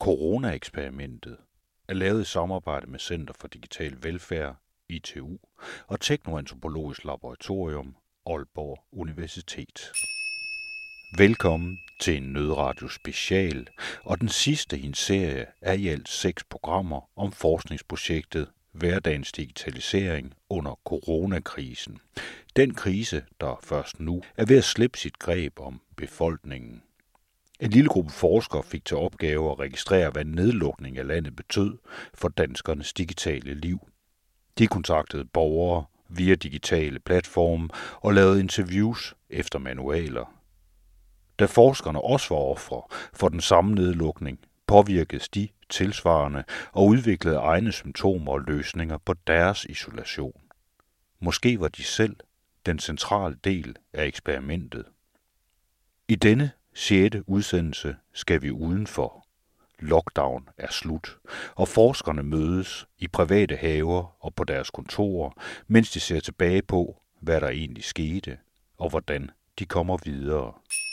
Corona-eksperimentet er lavet i samarbejde med Center for Digital Velfærd, ITU, og Teknoantropologisk Laboratorium, Aalborg Universitet. Velkommen til en Nødradio special, og den sidste i en serie af i alt 6 programmer om forskningsprojektet Hverdagens digitalisering under coronakrisen. Den krise, der først nu er ved at slippe sit greb om befolkningen. En lille gruppe forskere fik til opgave at registrere, hvad nedlukning af landet betød for danskernes digitale liv. De kontaktede borgere via digitale platforme og lavede interviews efter manualer. Da forskerne også var ofre for den samme nedlukning, påvirkedes de tilsvarende og udviklede egne symptomer og løsninger på deres isolation. Måske var de selv den centrale del af eksperimentet. I denne 6. udsendelse skal vi udenfor. Lockdown er slut, og forskerne mødes i private haver og på deres kontorer, mens de ser tilbage på, hvad der egentlig skete, og hvordan de kommer videre.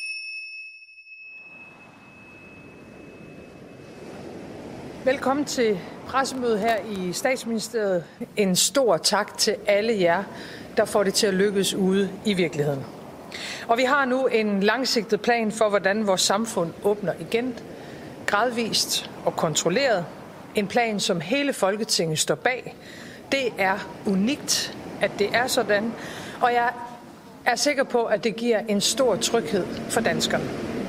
Velkommen til pressemødet her i Statsministeriet. En stor tak til alle jer, der får det til at lykkes ude i virkeligheden. Og vi har nu en langsigtet plan for, hvordan vores samfund åbner igen, gradvist og kontrolleret. En plan, som hele Folketinget står bag. Det er unikt, at det er sådan, og jeg er sikker på, at det giver en stor tryghed for danskerne.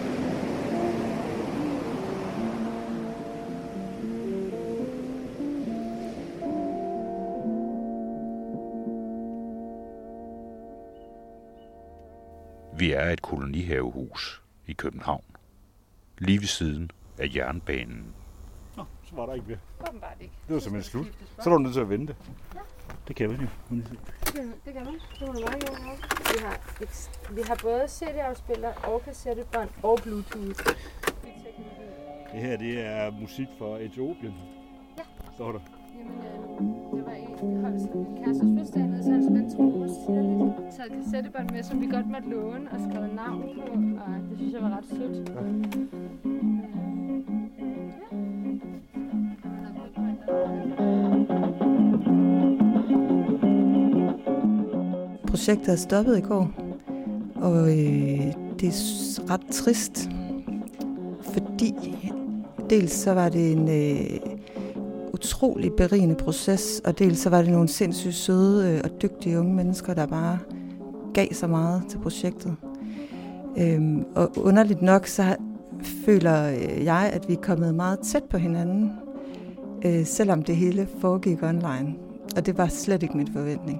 Vi er et kolonihavehus i København, lige ved siden af jernbanen. Nå, så var der ikke ved. Åbenbart ikke. Det var simpelthen slut. Så er du nødt til at vente. Ja. Det kan man jo. Det kan man. Det var meget godt. Vi har både CD-afspiller og kassettebånd og Bluetooth. Det her, det er musik fra Etiopien. Ja. Står der. Jamen, det var en hold, som min kærestes fødselsdag med, så han spændt trommer særligt. Taget kassettebånd med, som vi godt måtte låne og skrevet navn på, og det synes jeg var ret sødt. Ja. Projektet er stoppet i går, og det er ret trist, fordi dels så var det en utrolig berigende proces, og dels så var det nogle sindssygt søde og dygtige unge mennesker, der bare gav så meget til projektet. Og underligt nok, så føler jeg, at vi er kommet meget tæt på hinanden, selvom det hele foregik online. Og det var slet ikke min forventning.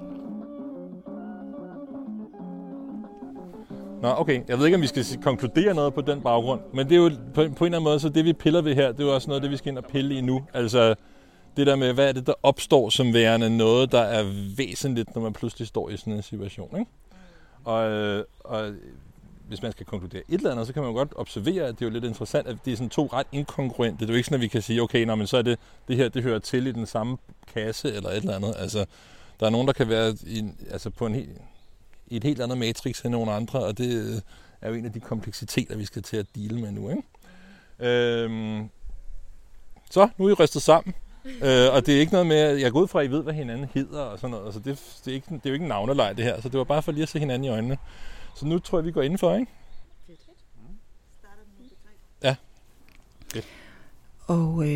Nå, okay. Jeg ved ikke, om vi skal konkludere noget på den baggrund, men det er jo på en eller anden måde, så det vi piller ved her, det er jo også noget, det vi skal ind og pille i nu. Altså det der med, hvad er det, der opstår som værende noget, der er væsentligt, når man pludselig står i sådan en situation, ikke? Og hvis man skal konkludere et eller andet, så kan man jo godt observere, at det er jo lidt interessant, at det er sådan 2 ret inkongruente. Det er jo ikke sådan, at vi kan sige, okay, men så er det her, det hører til i den samme kasse eller et eller andet. Altså, der er nogen, der kan være i et helt andet matrix end nogle andre, og det er jo en af de kompleksiteter, vi skal til at deale med nu, ikke? Så, nu er I rystet sammen. Og det er ikke noget med, at jeg går ud fra, at I ved, hvad hinanden hedder og sådan noget. Altså det er jo ikke en navneleg, det her. Så det var bare for lige at se hinanden i øjnene. Så nu tror jeg, vi går indenfor, ikke? Ja. Okay. Og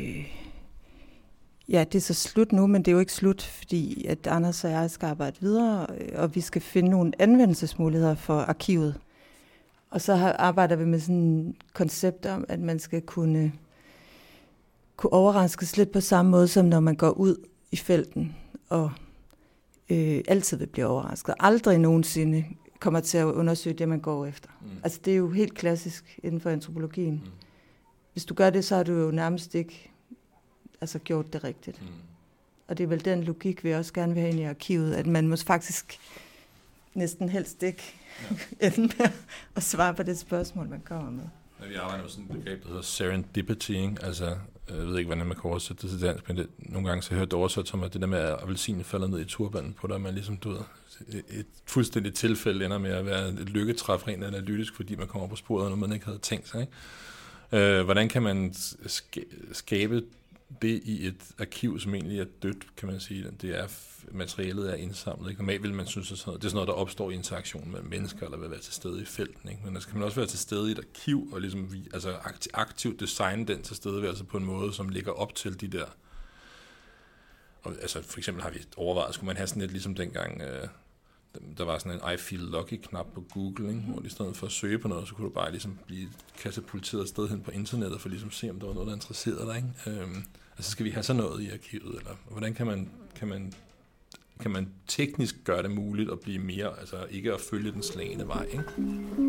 ja, det er så slut nu, men det er jo ikke slut, fordi at Anders og jeg skal arbejde videre, og vi skal finde nogle anvendelsesmuligheder for arkivet. Og så arbejder vi med sådan et koncept om, at man skal kunne overraskes lidt på samme måde, som når man går ud i felten, og altid vil blive overrasket. Aldrig nogensinde kommer til at undersøge det, man går efter. Altså, det er jo helt klassisk inden for antropologien. Hvis du gør det, så har du jo nærmest ikke gjort det rigtigt. Og det er vel den logik, vi også gerne vil have ind i arkivet, at man måske faktisk næsten helst ikke ende med at svare på det spørgsmål, man kommer med. Vi arbejder med sådan et begreb, der hedder serendipity, ikke? Altså, jeg ved ikke, hvordan man kan oversætte det til dansk, men nogle gange så hører det oversat som, at det der med, at appelsinen falder ned i turbanen på dig, man ligesom, du ved, et fuldstændigt tilfælde ender med at være et lykketræf rent analytisk, fordi man kommer på sporet af noget, man ikke havde tænkt sig, ikke? Hvordan kan man skabe det i et arkiv, som egentlig er dødt, kan man sige. Det er, materialet er indsamlet. Ikke? Normalt vil man synes, at det er sådan noget, der opstår i interaktion med mennesker, eller vil være til stede i felten. Ikke? Men der skal man også være til stede i et arkiv, og ligesom aktivt designe den tilstedeværelse på en måde, som ligger op til de der. Og, altså for eksempel har vi overvejet, skulle man have sådan lidt ligesom dengang, der var sådan en I feel lucky-knap på Google, ikke? Hvor i stedet for at søge på noget, så kunne du bare ligesom blive katapulteret et sted hen på internettet, for ligesom at se, om der var noget, der interesserede dig. Ikke? Altså skal vi have sådan noget i arkivet, eller hvordan kan man teknisk gøre det muligt at blive mere, altså ikke at følge den slagne vej, ikke? Og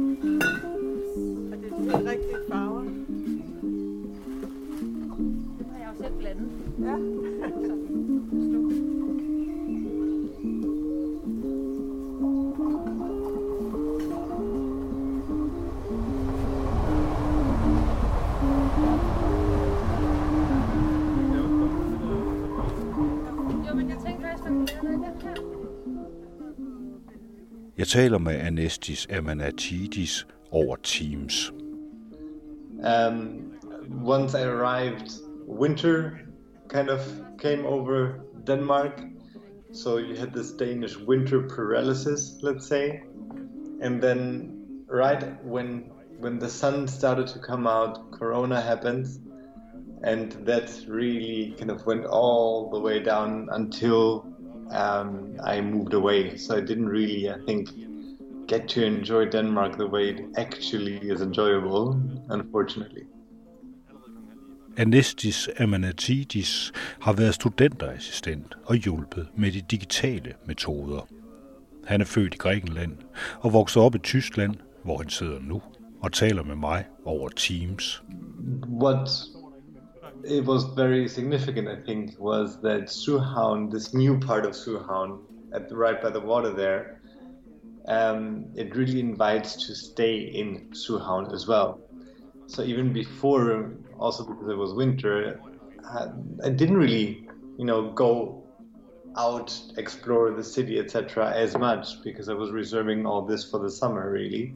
det er de rigtige farver. Det har jeg jo selv blandet. Ja. Jeg taler med Anestis Amanatidis over Teams. Once I arrived, winter kind of came over Denmark. So you had this Danish winter paralysis, let's say. And then right when the sun started to come out, Corona happened. And that really kind of went all the way down until I moved away. So I didn't really, I think, get to enjoy Denmark the way it actually is enjoyable, unfortunately. Anestis Amanatidis har været studenterassistent og hjulpet med de digitale metoder. Han er født i Grækenland og vokset op i Tyskland, hvor han sidder nu og taler med mig over Teams. It was very significant, I think, was that Suhavn, this new part of Suhavn, right by the water there, it really invites to stay in Suhavn as well. So even before, also because it was winter, I didn't really, go out, explore the city, etc. as much because I was reserving all this for the summer, really.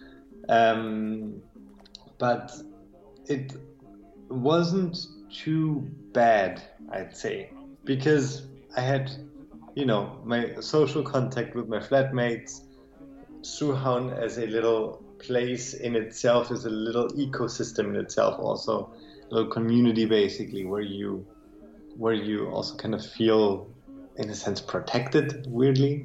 But it wasn't too bad, I'd say, because I had, my social contact with my flatmates. Suhavn as a little place in itself is a little ecosystem in itself, also a little community basically, where you also kind of feel, in a sense, protected, weirdly.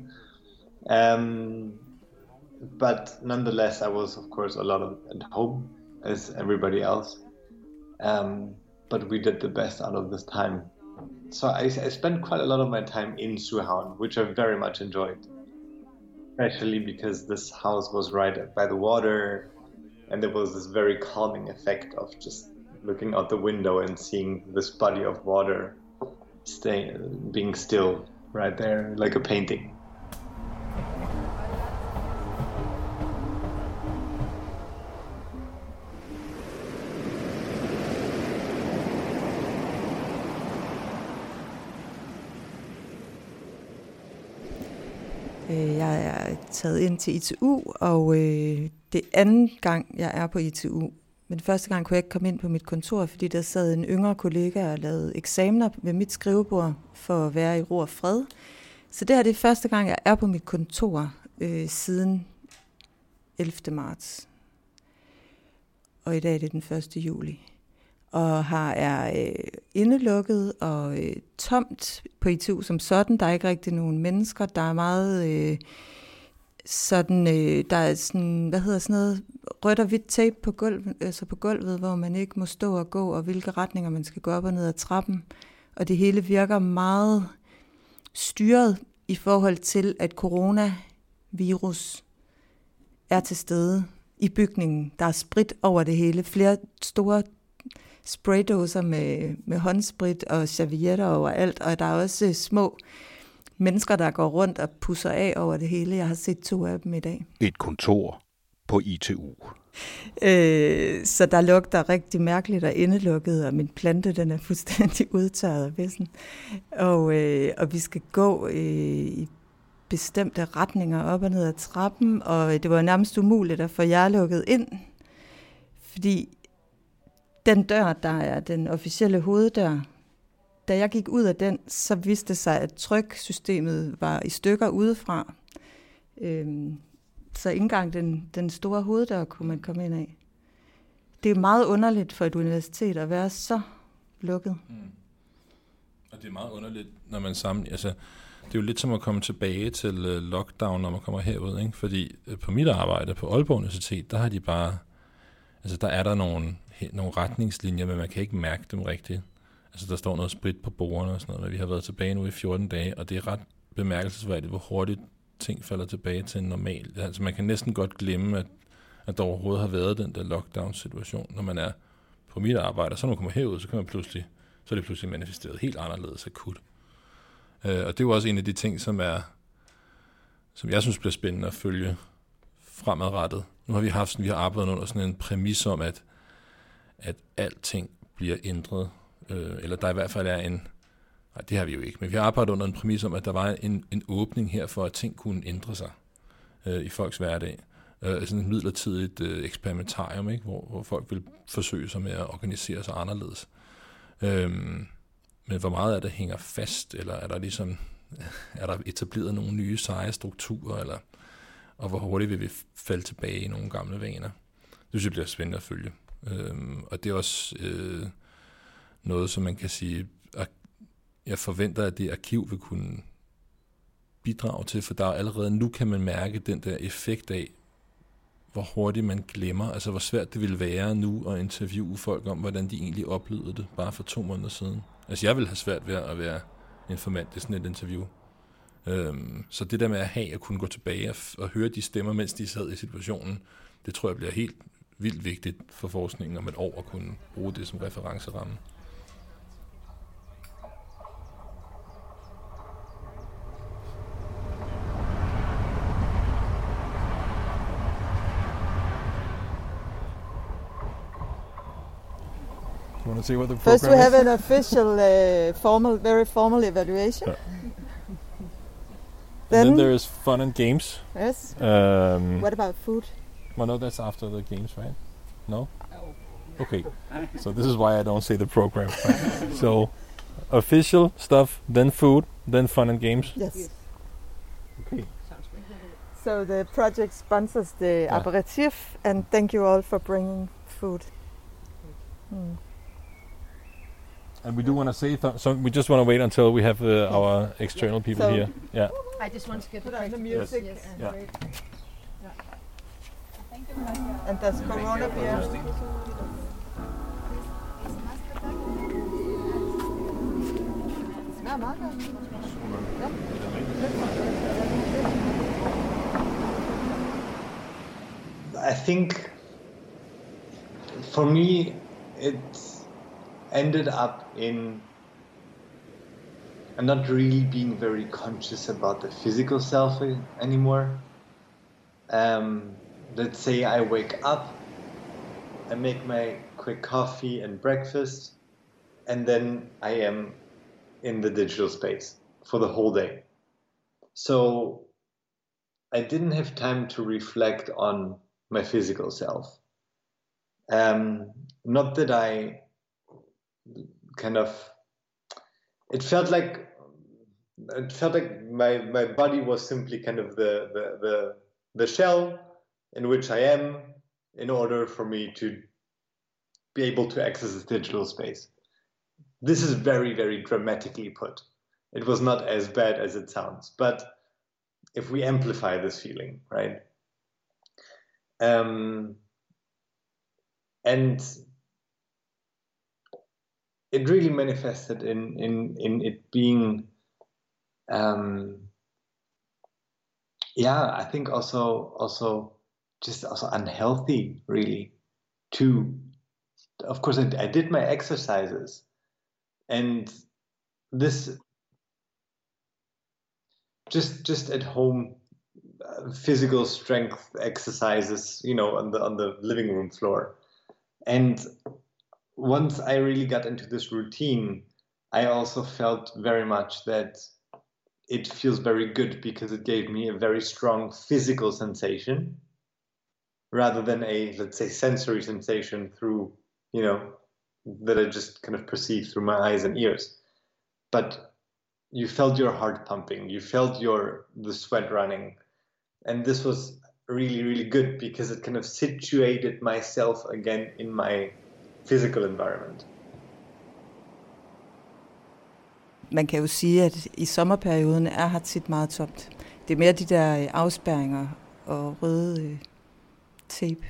But nonetheless, I was, of course, a lot at home, as everybody else. But we did the best out of this time. So I spent quite a lot of my time in Suhavn, which I very much enjoyed. Especially because this house was right by the water, and there was this very calming effect of just looking out the window and seeing this body of water being still right there, like a painting. Jeg er taget ind til ITU, og det anden gang, jeg er på ITU. Men første gang kunne jeg ikke komme ind på mit kontor, fordi der sad en yngre kollega og lavede eksamener ved mit skrivebord for at være i ro og fred. Så det her det er første gang, jeg er på mit kontor siden 11. marts. Og i dag er det den 1. juli. Og her er indelukket og tomt på ITU som sådan. Der er ikke rigtig nogen mennesker. Der er meget der er sådan, noget, rødt og hvidt tape på gulvet, altså på gulvet, hvor man ikke må stå og gå, og hvilke retninger man skal gå op og ned ad trappen. Og det hele virker meget styret i forhold til, at coronavirus er til stede i bygningen. Der er sprit over det hele. Flere store spraydåser med håndsprit og servietter overalt, og der er også små mennesker, der går rundt og pusser af over det hele. Jeg har set 2 af dem i dag. Et kontor på ITU. Så der lugter rigtig mærkeligt og indelukket, og min plante den er fuldstændig udtørret af vissen. Og vi skal gå i bestemte retninger op og ned ad trappen, og det var nærmest umuligt at få jer lukket ind, fordi den dør, der er den officielle hoveddør, da jeg gik ud af den, så viste det sig, at tryksystemet var i stykker udefra. Så ikke engang den store hoveddør kunne man komme ind af. Det er meget underligt for et universitet at være så lukket. Og det er meget underligt, når man sammen... Altså, det er jo lidt som at komme tilbage til lockdown, når man kommer herud, ikke? Fordi på mit arbejde på Aalborg Universitet, der har de bare... Altså, der er der nogle retningslinjer, men man kan ikke mærke dem rigtigt. Altså, der står noget sprit på bordene og sådan noget, men vi har været tilbage nu i 14 dage, og det er ret bemærkelsesværdigt, hvor hurtigt ting falder tilbage til en normal. Altså, man kan næsten godt glemme, at der overhovedet har været den der lockdown-situation, når man er på mit arbejde. Så når man kommer herud, så er det pludselig manifesteret helt anderledes akut. Og det er jo også en af de ting, som jeg synes bliver spændende at følge fremadrettet. Nu har vi har arbejdet under sådan en præmis om, at alting bliver ændret, eller der i hvert fald er nej, det har vi jo ikke, men vi har arbejdet under en præmis om, at der var en åbning her for, at ting kunne ændre sig i folks hverdag. Sådan et midlertidigt eksperimentarium, ikke? Hvor folk vil forsøge sig med at organisere sig anderledes. Men hvor meget af det hænger fast, eller er der etableret nogle nye seje strukturer, og hvor hurtigt vil vi falde tilbage i nogle gamle vaner? Det synes jeg bliver spændende at følge. Og det er også noget, som man kan sige, jeg forventer, at det arkiv vil kunne bidrage til, for der allerede nu kan man mærke den der effekt af, hvor hurtigt man glemmer, altså hvor svært det ville være nu at interviewe folk om, hvordan de egentlig oplevede det, bare for 2 måneder siden. Altså jeg ville have svært ved at være informant i sådan et interview. Så det der med at kunne gå tilbage og høre de stemmer, mens de sad i situationen, det tror jeg bliver helt vildt vigtigt for forskningen om et år at kunne bruge det som referenceramme. You want to see what the program First we have is? an official, very formal evaluation. Yeah. Then there is fun and games. Yes. What about food? Well, no, that's after the games, right? No? Okay. So this is why I don't say the program. Right? So official stuff, then food, then fun and games. Yes. Okay. So the project sponsors the aperitif, and thank you all for bringing food. And we do want to say, so we just want to wait until we have our external people here. Yeah. I just want to get Put on the music. Yes. Yeah. Thank you. And there's Corona beer. Smager meget godt. I think for me it ended up in not really being very conscious about the physical self anymore. Let's say I wake up, I make my quick coffee and breakfast, and then I am in the digital space for the whole day. So I didn't have time to reflect on my physical self. Not that I kind of, it felt like my body was simply kind of the shell in which I am in order for me to be able to access this digital space. This is very, very dramatically put. It was not as bad as it sounds, but if we amplify this feeling, right? And it really manifested in it being, I think also unhealthy, really. Of course, I did my exercises, and this just at home physical strength exercises, on the living room floor. And once I really got into this routine, I also felt very much that it feels very good because it gave me a very strong physical sensation rather than a, let's say, sensory sensation through, that I just kind of perceived through my eyes and ears. But you felt your heart pumping, you felt the sweat running. And this was really, really good because it kind of situated myself again in my physical environment. Man kan jo sige, at i sommerperioden er her tit meget tomt. Det er mere de der afspærringer og røde tape,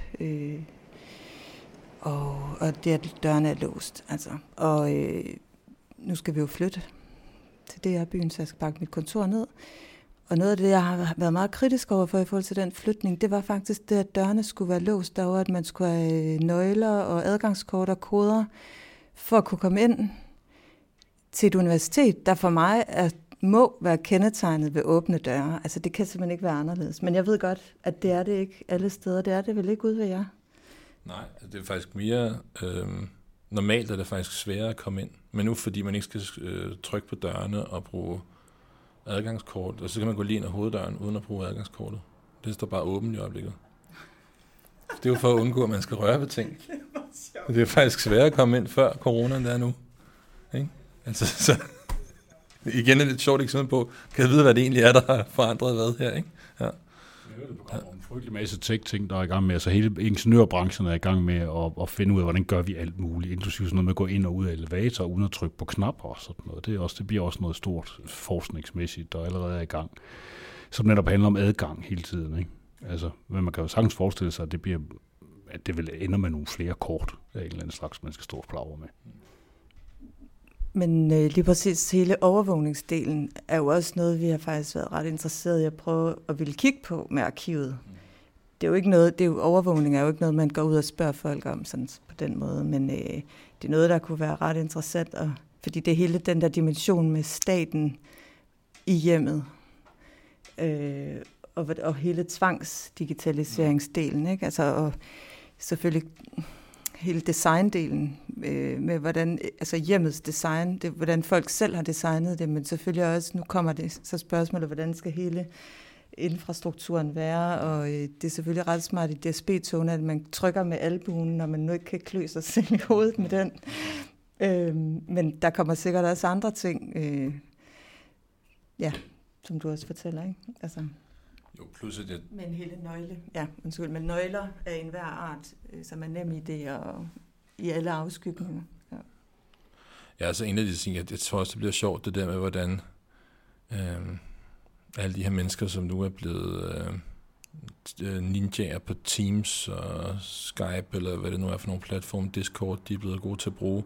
og det at dørene er låst. Altså. Og nu skal vi jo flytte til DR-byen, så jeg skal pakke mit kontor ned. Og noget af det, jeg har været meget kritisk over for i forhold til den flytning, det var faktisk det, at dørene skulle være låst derovre, at man skulle have nøgler og adgangskort og koder for at kunne komme ind til et universitet, der for mig må være kendetegnet ved åbne døre. Altså det kan simpelthen ikke være anderledes. Men jeg ved godt, at det er det ikke alle steder. Det er det vel ikke ude ved jer? Nej, det er faktisk mere normalt, er det faktisk sværere at komme ind. Men nu fordi man ikke skal trykke på dørene og bruge adgangskort, og så kan man gå lige ind ad hoveddøren uden at bruge adgangskortet. Det står bare åbent i øjeblikket. Det er jo for at undgå, at man skal røre ved ting. Det er faktisk sværere at komme ind før corona, end det er nu. Ikke? Altså, så igen er det et sjovt eksempel på, kan jeg vide, hvad det egentlig er, der har forandret hvad her, ikke? Ja. Der kommer en frygtelig masse tech-ting, der er i gang med. Altså hele ingeniørbranchen er i gang med at finde ud af, hvordan gør vi alt muligt, inklusive sådan noget med at gå ind og ud af elevator, uden at trykke på knapper og sådan noget. Det bliver også noget stort forskningsmæssigt, der allerede er i gang, som netop handler om adgang hele tiden, ikke? Altså, men man kan jo sagtens forestille sig, at det vil ende med nogle flere kort af en eller anden slags, man skal stå og plagre med. Men lige præcis hele overvågningsdelen er jo også noget, vi har faktisk været ret interesseret i at prøve at ville kigge på med arkivet. Det er jo ikke noget, overvågning er jo ikke noget, man går ud og spørger folk om sådan på den måde, men det er noget, der kunne være ret interessant, fordi det er hele den der dimension med staten i hjemmet, og hele tvangsdigitaliseringsdelen, ikke? Altså, og selvfølgelig hele designdelen med hvordan, altså hjemmets design, det, hvordan folk selv har designet det, men selvfølgelig også, nu kommer det så spørgsmålet, hvordan skal hele infrastrukturen være, og det er selvfølgelig ret smart i DSB-togene, at man trykker med albuen, når man nu ikke kan klø sig selv i hovedet med den. Men der kommer sikkert også andre ting, som du også fortæller, ikke? Altså. Jo, plus at men hele nøgle, men nøgler af enhver art, som er nem idé og i alle afskygninger. Ja. Ja, altså en af de ting, jeg tror også, det bliver sjovt, det der med, hvordan alle de her mennesker, som nu er blevet ninjaer på Teams og Skype, eller hvad det nu er for nogle platforme, Discord, de er blevet gode til at bruge.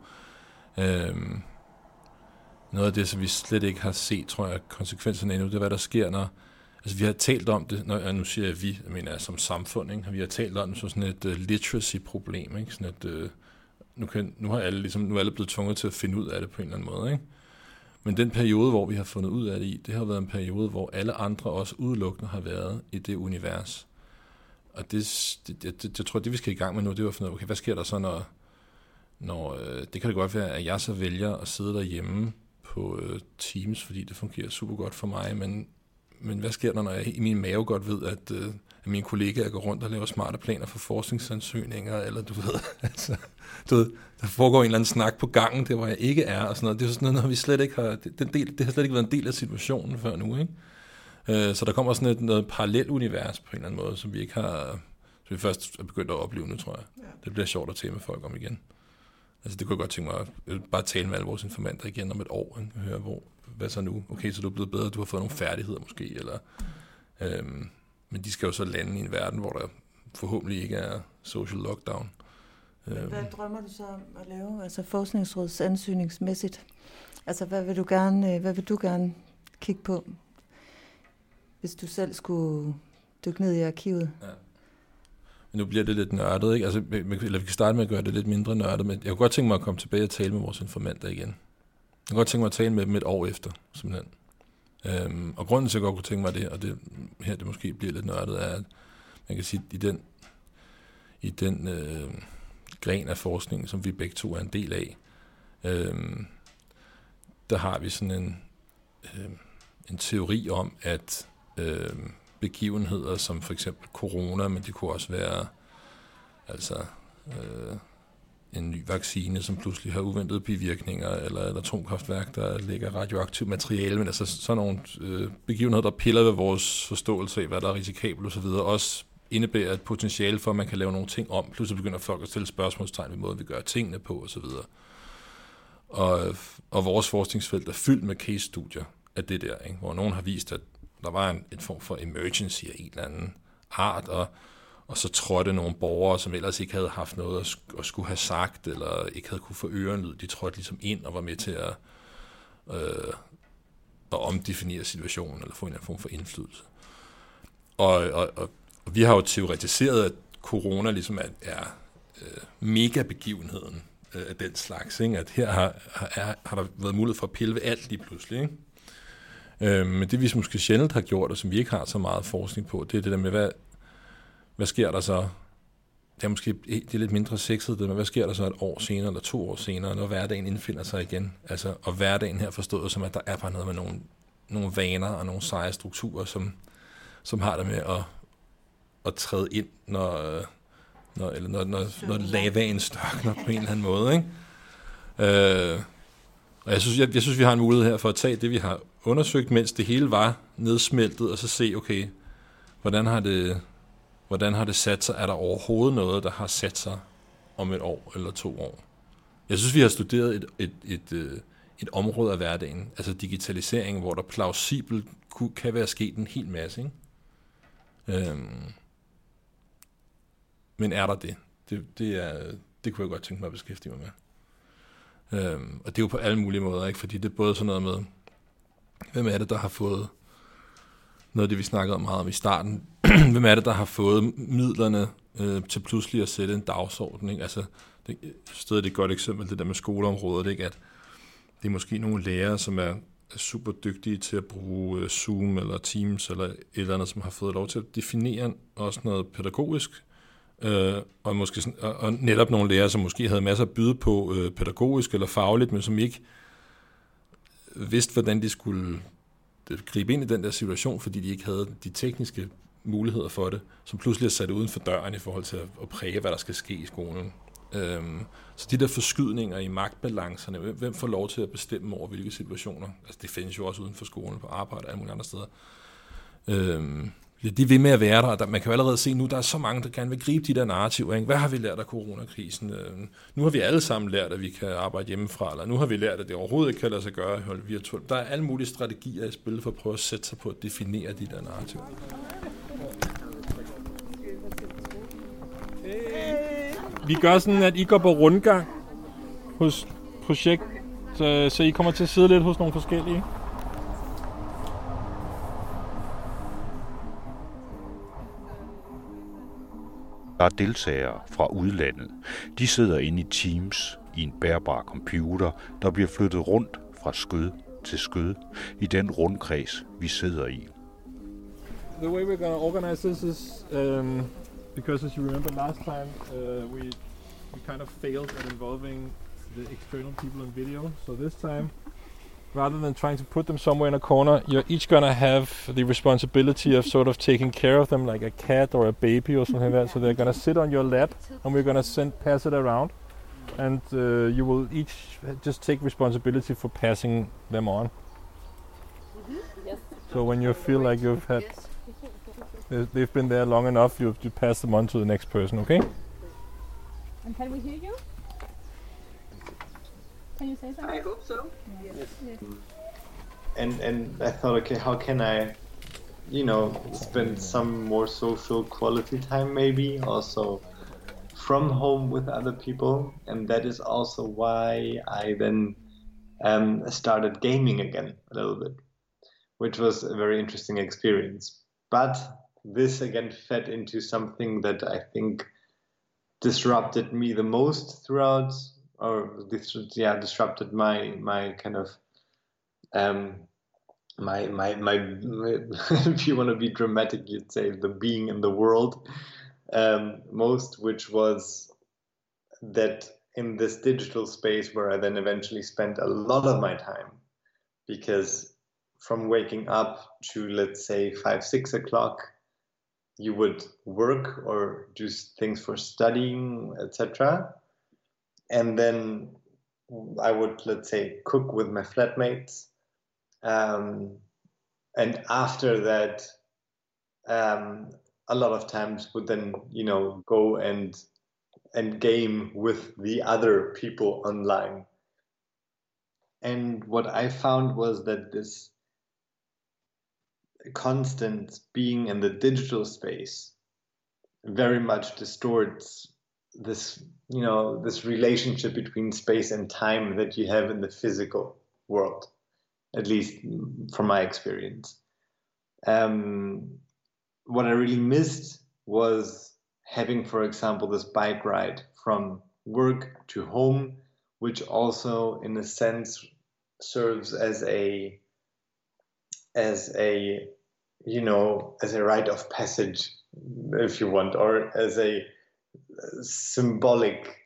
Noget af det, som vi slet ikke har set, tror jeg, konsekvenserne endnu, det er, hvad der sker, når altså, vi har talt om det, nu siger jeg vi, jeg mener som samfund, ikke? Vi har talt om det som sådan et literacy-problem, ikke? Sådan et, nu er alle blevet tvunget til at finde ud af det på en eller anden måde, ikke? Men den periode, hvor vi har fundet ud af det i, det har været en periode, hvor alle andre også udelukkende har været i det univers. Og jeg tror, det vi skal i gang med nu, det var at finde ud af, okay, hvad sker der så, når det kan det godt være, at jeg så vælger at sidde derhjemme på Teams, fordi det fungerer super godt for mig, men hvad sker der, når jeg i min mave godt ved, at mine kollegaer går rundt og laver smarte planer for forskningsansøgninger, eller du ved, der foregår en eller anden snak på gangen, der hvor jeg ikke er, og sådan noget. Det er sådan noget, vi slet ikke har, det har slet ikke været en del af situationen før nu, ikke? Så der kommer sådan noget parallelt univers på en eller anden måde, som vi ikke har, som vi først er begyndt at opleve nu, tror jeg. Ja. Det bliver sjovt at tale med folk om igen. Altså det kunne jeg godt tænke mig at bare tale med alle vores informanter igen om et år, ikke? Høre, hvad så nu? Okay, så du er blevet bedre, du har fået nogle færdigheder måske, eller men de skal jo så lande i en verden, hvor der forhåbentlig ikke er social lockdown. Hvad drømmer du så om at lave, altså forskningsrådsansøgningsmæssigt? Altså hvad vil du gerne kigge på, hvis du selv skulle dykke ned i arkivet? Ja. Men nu bliver det lidt nørdet, ikke? Altså, eller vi kan starte med at gøre det lidt mindre nørdet, men jeg kunne godt tænke mig at komme tilbage og tale med vores informanter igen. Jeg kunne godt tænke mig at tale med dem et år efter, simpelthen. Og grunden til, at jeg godt kunne tænke mig det, og det måske bliver lidt nørdet, er, at man kan sige, i den gren af forskningen, som vi begge to er en del af, der har vi sådan en teori om, at begivenheder som for eksempel corona, men det kunne også være altså en ny vaccine, som pludselig har uventede bivirkninger, eller et atomkraftværk, der lægger radioaktivt materiale, men altså sådan nogle begivenheder, der piller ved vores forståelse af, hvad der er risikabelt osv., også indebærer et potentiale for, at man kan lave nogle ting om. Pludselig begynder folk at stille spørgsmålstegn ved måden, vi gør tingene på osv. Og vores forskningsfelt er fyldt med case-studier af det der, ikke? Hvor nogen har vist, at der var en form for emergency af en eller anden art, og så trådte nogle borgere, som ellers ikke havde haft noget at skulle have sagt, eller ikke havde kunne få ørenlyd, de trådte ligesom ind og var med til at omdefinere situationen, eller få en form for indflydelse. Og vi har jo teoretiseret, at corona ligesom er mega-begivenheden af den slags, ikke? At her har der været mulighed for at pille ved alt lige pludselig, ikke? Men det vi måske sjældent har gjort, og som vi ikke har så meget forskning på, det er det der med, hvad sker der så? Det er måske det er lidt mindre sexet, men hvad sker der så et år senere, eller 2 år senere, når hverdagen indfinder sig igen? Altså, og hverdagen her forstået som, at der er bare noget med nogle vaner og nogle seje strukturer, som har det med at træde ind, når lavaen størkner på en eller anden måde, ikke? Og jeg synes, vi har en mulighed her for at tage det, vi har undersøgt, mens det hele var nedsmeltet, og så se, okay, hvordan har det sat sig? Er der overhovedet noget, der har sat sig om 1 år eller 2 år? Jeg synes, vi har studeret et område af hverdagen, altså digitalisering, hvor der plausibelt kan være sket en hel masse, ikke? Men er der det? Det kunne jeg godt tænke mig at beskæftige mig med. Og det er jo på alle mulige måder, ikke? Fordi det er både sådan noget med, hvem er det, der har fået noget af det, vi snakkede om meget om i starten. Hvem er det, der har fået midlerne til pludselig at sætte en dagsorden, ikke? Altså, det er et godt eksempel, det der med skoleområdet, ikke? At det er måske nogle lærere, som er super dygtige til at bruge Zoom eller Teams eller et eller andet, som har fået lov til at definere også noget pædagogisk, og måske og netop nogle lærere, som måske havde masser at byde på pædagogisk eller fagligt, men som ikke vidste, hvordan de skulle gribe ind i den der situation, fordi de ikke havde de tekniske muligheder for det, som pludselig er sat uden for døren i forhold til at præge, hvad der skal ske i skolen. Så de der forskydninger i magtbalancerne, hvem får lov til at bestemme over hvilke situationer, altså det findes jo også uden for skolen, på arbejde og alle mulige andre steder. De er ved med at være der, og man kan jo allerede se nu, der er så mange, der gerne vil gribe de der narrativer, ikke? Hvad har vi lært af coronakrisen? Nu har vi alle sammen lært, at vi kan arbejde hjemmefra, eller nu har vi lært, at det overhovedet ikke kan lade sig gøre at holde virtuelt. Der er alle mulige strategier i spil for at prøve at sætte sig på at definere de der narrativer. Vi gør sådan, at I går på rundgang hos projekt, så I kommer til at sidde lidt hos nogle forskellige. Der er deltagere fra udlandet. De sidder inde i Teams i en bærbar computer, der bliver flyttet rundt fra skød til skød i den rundkreds, vi sidder i. The way we're going to organize this is because, as you remember last time, we kind of failed at involving the external people in video. So this time, rather than trying to put them somewhere in a corner, you're each going to have the responsibility of sort of taking care of them like a cat or a baby or something like that. So they're going to sit on your lap, and we're going to pass it around, and you will each just take responsibility for passing them on. Yes. So when you feel like you've had they've been there long enough, you pass them on to the next person, okay? And can we hear you? Can you say something? I hope so. Yes. Yes. And I thought, okay, how can I, spend some more social quality time maybe, also from home with other people, and that is also why I then started gaming again a little bit, which was a very interesting experience. But this again fed into something that I think disrupted me the most throughout, or disrupted my kind of my if you want to be dramatic, you'd say the being in the world most, which was that in this digital space where I then eventually spent a lot of my time, because from waking up to, let's say, 5-6 o'clock, you would work or do things for studying, etc. and then I would, let's say, cook with my flatmates. And after that, a lot of times would then, go and game with the other people online. And what I found was that this constant being in the digital space very much distorts this, this relationship between space and time that you have in the physical world, at least from my experience. What I really missed was having, for example, this bike ride from work to home, which also, in a sense, serves as a rite of passage, if you want, or as a symbolic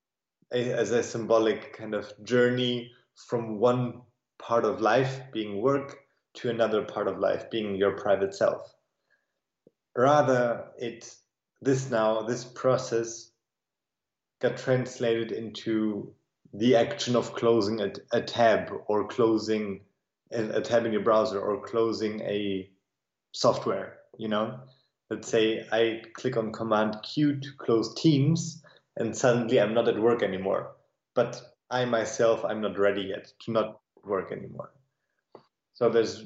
kind of journey from one part of life, being work, to another part of life, being your private self. Rather, this process got translated into the action of closing a tab, or closing a tab in your browser, or closing a software. Let's say I click on Command Q to close Teams, and suddenly I'm not at work anymore. But I myself, I'm not ready yet to not work anymore. So there's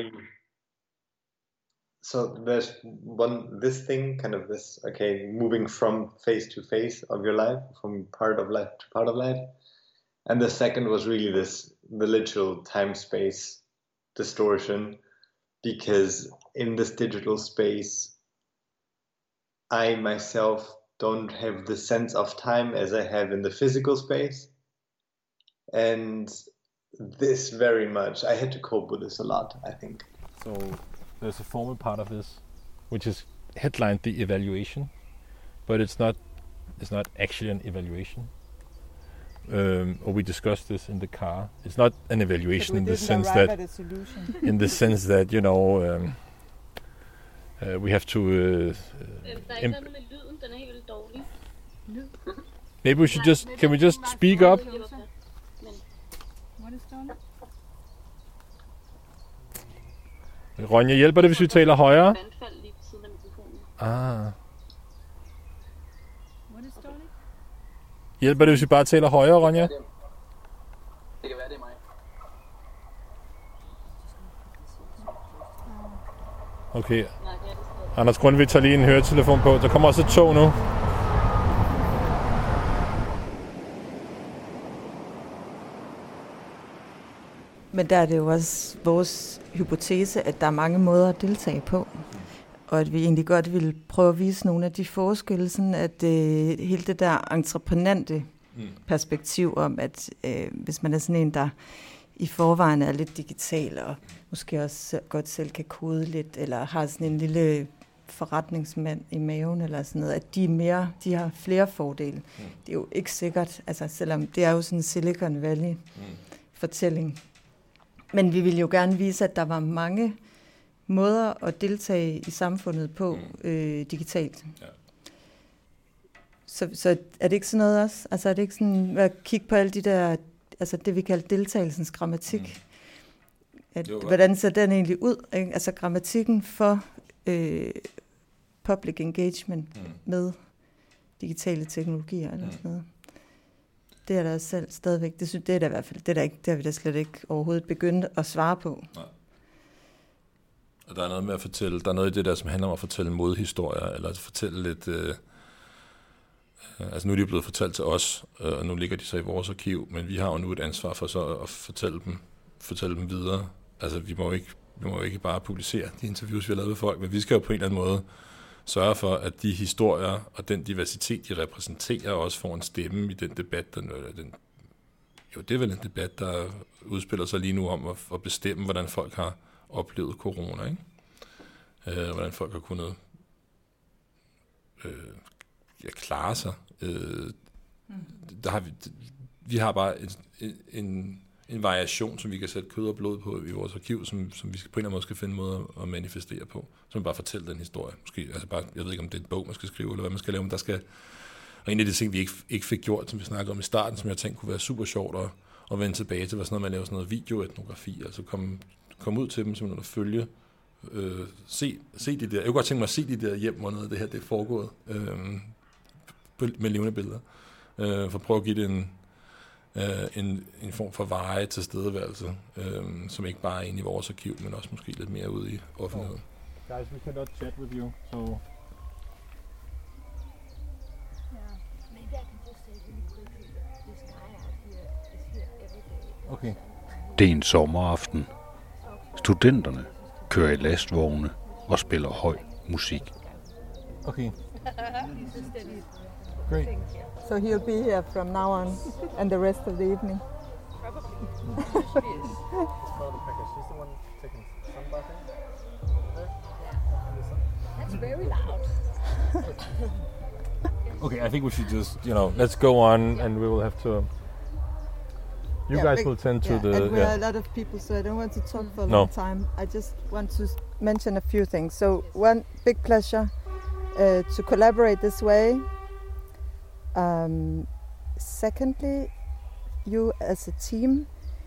this thing, kind of this, moving from face to face of your life, from part of life to part of life. And the second was really the literal time-space distortion, because in this digital space, I myself don't have the sense of time as I have in the physical space. And this very much, I had to cope with this a lot, I think. So there's a formal part of this, which is headlined the evaluation, but it's not actually an evaluation. Or we discussed this in the car. It's not an evaluation in the sense that, we have to. Maybe we should can we just speak up? Ronja, hjælper det, hvis vi taler højere? Hjælper det, hvis vi bare taler højere, Ronja? Det kan være, det er mig. Okay. Anders Grundtvig tager lige en høretelefon på. Der kommer også et tog nu. Men der er det jo også vores hypotese, at der er mange måder at deltage på. Og at vi egentlig godt vil prøve at vise nogle af de forskelle, sådan at hele det der entreprenante perspektiv om, at hvis man er sådan en, der i forvejen er lidt digital, og måske også godt selv kan kode lidt, eller har sådan en lille forretningsmand i maven, eller sådan noget, at de har flere fordele. Det er jo ikke sikkert, altså selvom det er jo sådan en Silicon Valley-fortælling. Men vi ville jo gerne vise, at der var mange måder at deltage i samfundet på digitalt. Ja. Så er det ikke sådan noget også? Altså er det ikke sådan at kigge på alle de der, altså det vi kalder deltagelsens grammatik? Hvordan ser den egentlig ud? Ikke? Altså grammatikken for public engagement med digitale teknologier eller sådan noget. Det er der selv stadigvæk. Det er der i hvert fald. Det har vi da slet ikke overhovedet begyndt at svare på. Nej. Og der er noget med at fortælle, der er noget i det der, som handler om at fortælle modhistorier, eller at fortælle lidt, altså nu er de blevet fortalt til os, og nu ligger de så i vores arkiv, men vi har jo nu et ansvar for så at fortælle dem videre. Altså vi må jo ikke bare publicere de interviews, vi har lavet med folk, men vi skal jo på en eller anden måde sørge for, at de historier og den diversitet, de repræsenterer, også får en stemme i den debat, det er vel en debat, der udspiller sig lige nu om at bestemme, hvordan folk har oplevet corona, ikke? Hvordan folk har kunnet klare sig. Der har vi har bare en variation, som vi kan sætte kød og blod på i vores arkiv, som vi på en eller anden måde skal finde en måde at manifestere på. Så man bare fortælle den historie. Måske, altså bare, jeg ved ikke, om det er en bog, man skal skrive, eller hvad man skal lave, men Og en af de ting, vi ikke fik gjort, som vi snakkede om i starten, som jeg tænkte kunne være super sjovt at vende tilbage til, var sådan noget med at lave sådan noget videoetnografi, altså komme ud til dem, simpelthen at følge, se de der, jeg kunne godt tænke mig at se de der hjem, hvor noget af det her det er foregået med levende billeder, for at prøve at give det en form for veje til stedeværelse, som ikke bare er inde i vores arkiv, men også måske lidt mere ude i offentligheden. Guys, we cannot chat with you, so... Okay. Det er en sommeraften. Studenterne kører i lastvogne og spiller høj musik. Okay. Great. So he'll be here from now on and the rest of the evening. That's very loud. Okay, I think we should just, let's go on, and we will have to... You guys will tend to the... And we are a lot of people, so I don't want to talk for a long time. I just want to mention a few things. So one, big pleasure to collaborate this way. Secondly, you as a team,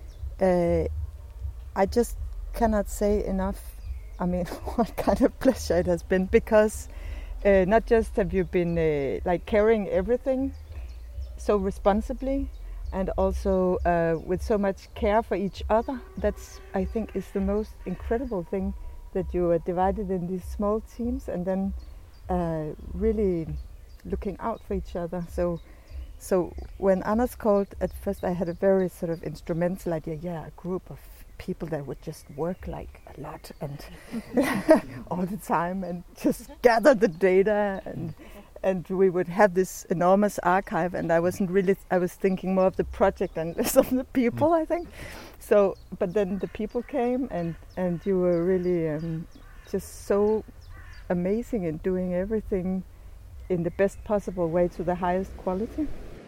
I just cannot say enough, what kind of pleasure it has been, because not just have you been carrying everything so responsibly, and also with so much care for each other. That's, I think, is the most incredible thing, that you are divided in these small teams and then really looking out for each other. So when Anders called, at first I had a very sort of instrumental idea, a group of people that would just work like a lot and all the time and just gather the data and we would have this enormous archive, and I was thinking more of the project and less of the people, I think. So, but then the people came and you were really just so amazing in doing everything in the best possible way to the highest quality.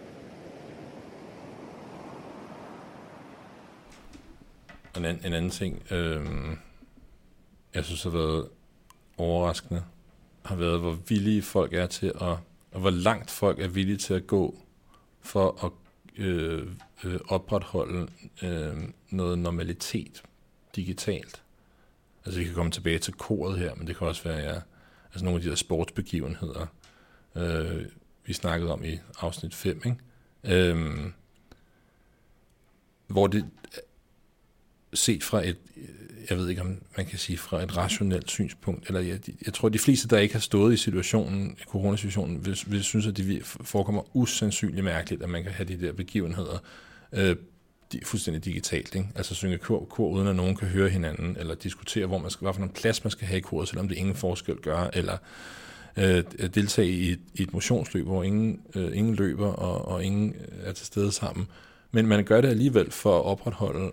En anden ting, jeg synes har været overraskende, har været, hvor villige folk er til og hvor langt folk er villige til at gå for at opretholde noget normalitet digitalt. Altså vi kan komme tilbage til koret her, men det kan også være nogle af de der sportsbegivenheder, vi snakkede om i afsnit 5, ikke? Hvor det set fra et, jeg ved ikke om man kan sige fra et rationelt synspunkt, eller jeg tror de fleste, der ikke har stået i situationen, i coronasituationen, vil synes, at det forekommer usandsynligt mærkeligt, at man kan have de der begivenheder fuldstændig digitalt, ikke? Altså synge kor uden at nogen kan høre hinanden, eller diskutere, hvad for en plads man skal have i koret, selvom det ingen forskel gør, eller deltage i et motionsløb, hvor ingen løber, og ingen er til stede sammen. Men man gør det alligevel for at opretholde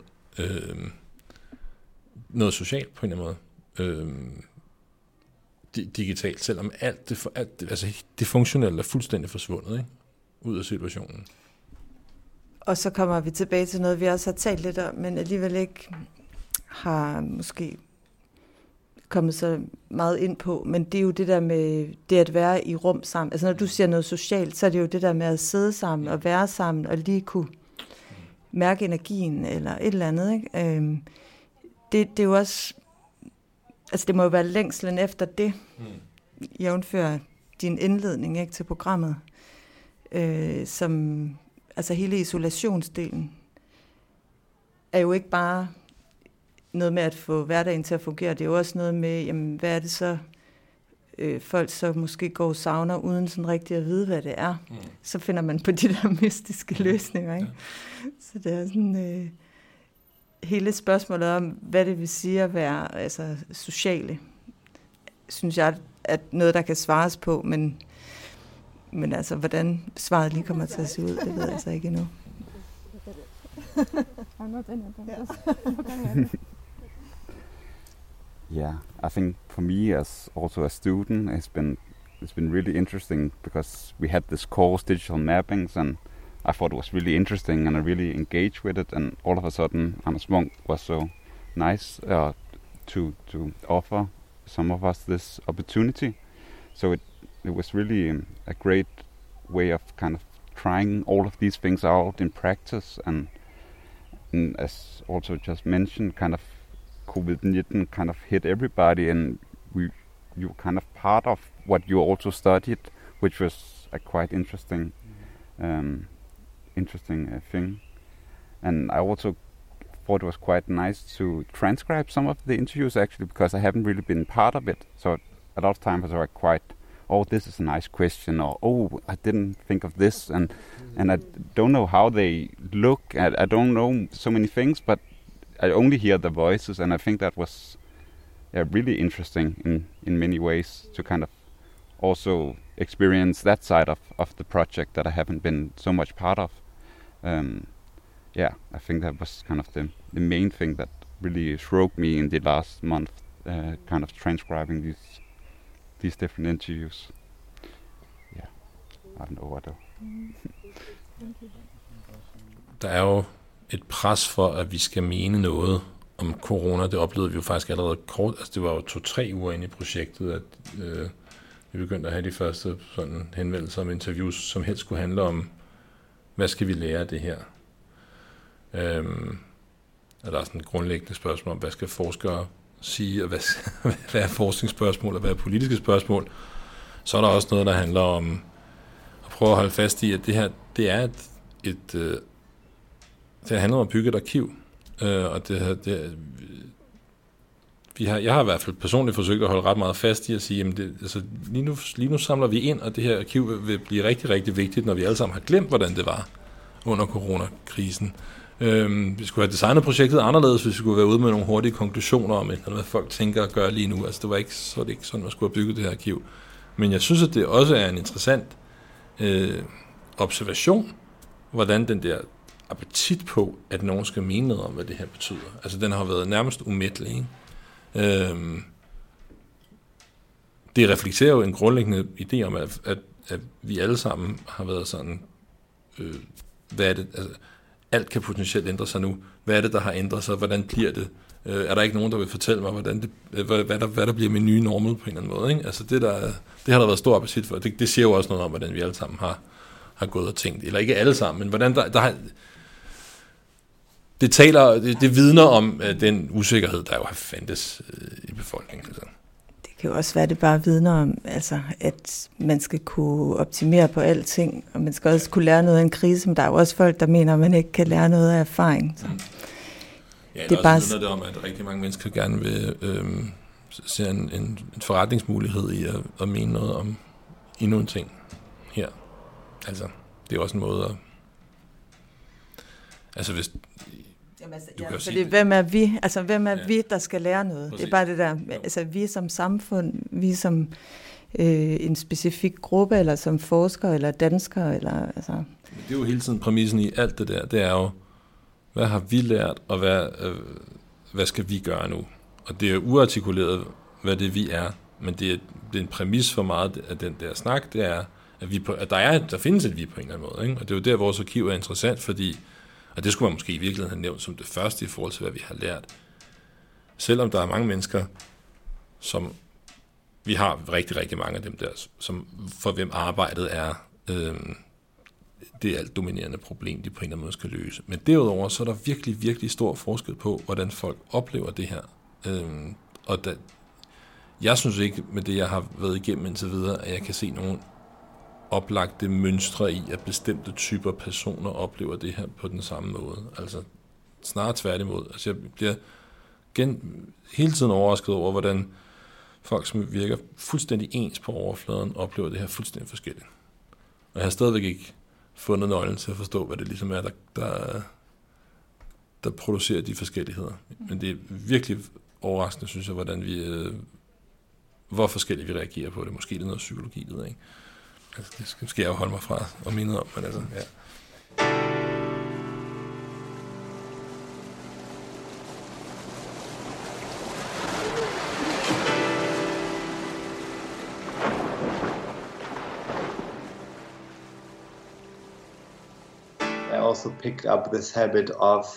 noget socialt på en eller anden måde digitalt, selvom alt det funktionelle er fuldstændig forsvundet, ikke? Ud af situationen. Og så kommer vi tilbage til noget, vi også har talt lidt om, men alligevel ikke har måske kommet så meget ind på, men det er jo det der med det at være i rum sammen. Altså når du siger noget socialt, så er det jo det der med at sidde sammen og være sammen og lige kunne mærke energien eller et eller andet, ikke? Det er jo også, altså det må jo være længslen efter det, jævnfør din indledning, ikke, til programmet, som, altså hele isolationsdelen er jo ikke bare noget med at få hverdagen til at fungere, det er jo også noget med, jamen, hvad er det så, folk så måske går og savner, uden sådan rigtig at vide, hvad det er. Så finder man på de der mystiske løsninger, ikke? Så det er sådan hele spørgsmålet om, hvad det vil sige at være altså, sociale, synes jeg, at noget, der kan svares på, men altså, hvordan svaret lige kommer til at se ud, det ved jeg altså ikke endnu. Yeah, I think for me as also a student, it's been really interesting because we had this course, digital mappings, and I thought it was really interesting and I really engaged with it, and all of a sudden Anders Munck was so nice to offer some of us this opportunity. So it was really a great way of kind of trying all of these things out in practice, and as also just mentioned, kind of COVID-19 kind of hit everybody, and you were kind of part of what you also studied, which was a quite interesting thing. And I also thought it was quite nice to transcribe some of the interviews, actually, because I haven't really been part of it. So a lot of times I was quite, oh, this is a nice question, or oh, I didn't think of this, and I don't know how they look. I don't know so many things, but I only hear the voices, and I think that was really interesting in many ways to kind of also experience that side of the project that I haven't been so much part of. I think that was kind of the main thing that really struck me in the last month, kind of transcribing these different interviews. Yeah, I don't know what to. Der er jo et pres for, at vi skal mene noget om corona. Det oplevede vi jo faktisk allerede kort. Altså det var jo 2-3 uger inde i projektet, at vi begyndte at have de første sådan henvendelser om interviews, som helst skulle handle om, hvad skal vi lære af det her? Og der er sådan et grundlæggende spørgsmål om, hvad skal forskere sige, og hvad er forskningsspørgsmål, og hvad er politiske spørgsmål. Så er der også noget, der handler om at prøve at holde fast i, at det her, det er det handler om at bygge et arkiv. Og jeg har i hvert fald personligt forsøgt at holde ret meget fast i at sige, jamen lige nu samler vi ind, og det her arkiv vil blive rigtig, rigtig vigtigt, når vi alle sammen har glemt, hvordan det var under coronakrisen. Vi skulle have designet projektet anderledes, hvis vi skulle være ude med nogle hurtige konklusioner om, hvad folk tænker og gør lige nu. Altså det var ikke sådan, man skulle have bygget det her arkiv. Men jeg synes, at det også er en interessant observation, hvordan den der appetit på, at nogen skal mene noget om, hvad det her betyder. Altså den har været nærmest umættelig, ikke? Det reflekterer jo en grundlæggende idé om, at vi alle sammen har været sådan, hvad er det, altså, alt kan potentielt ændre sig nu. Hvad er det, der har ændret sig? Hvordan bliver det? Er der ikke nogen, der vil fortælle mig, hvad der bliver med nye normal på en eller anden måde? Ikke? Altså det har der været stor appetit for. Det siger jo også noget om, hvordan vi alle sammen har gået og tænkt. Eller ikke alle sammen, men hvordan der har... Det vidner om den usikkerhed, der jo har fandtes i befolkningen. Altså. Det kan jo også være, det bare vidner om, altså, at man skal kunne optimere på alting, og man skal også kunne lære noget af en krise, men der er jo også folk, der mener, at man ikke kan lære noget af erfaring. Så. Ja, det er bare vidner det om, at rigtig mange mennesker gerne vil se en forretningsmulighed i at mene noget om endnu en ting her. Altså, det er også en måde at... Altså, hvis... Hvem er vi? Altså, hvem er vi, der skal lære noget? Præcis. Det er bare det der, altså vi som samfund, vi som en specifik gruppe, eller som forskere, eller danskere, eller altså... Det er jo hele tiden præmissen i alt det der, det er jo, hvad har vi lært, og hvad skal vi gøre nu? Og det er uartikuleret, hvad det vi er, men det er en præmis for meget af den der snak, det er, at der findes et vi på en eller anden måde, ikke? Og det er jo der, vores arkiv er interessant, fordi og det skulle man måske i virkeligheden have nævnt som det første i forhold til, hvad vi har lært. Selvom der er mange mennesker, som vi har rigtig, rigtig mange af dem der, som for hvem arbejdet er det alt dominerende problem, de på en eller anden måde skal løse. Men derudover, så er der virkelig, virkelig stor forskel på, hvordan folk oplever det her. Jeg synes ikke, med det jeg har været igennem indtil videre, at jeg kan se nogen oplagte mønstre i, at bestemte typer personer oplever det her på den samme måde. Altså snarere tværtimod. Altså jeg bliver hele tiden overrasket over, hvordan folk, som virker fuldstændig ens på overfladen, oplever det her fuldstændig forskelligt. Og jeg har stadigvæk ikke fundet nøglen til at forstå, hvad det ligesom er, der producerer de forskelligheder. Men det er virkelig overraskende, synes jeg, hvordan hvor forskelligt vi reagerer på det. Måske det er noget psykologi, det ikke? Altså, det skal jeg jo holde mig fra og minde om, men altså, ja. I also picked up this habit